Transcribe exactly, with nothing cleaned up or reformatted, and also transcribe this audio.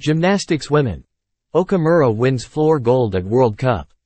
Gymnastics women. Okamura wins floor gold at World Cup.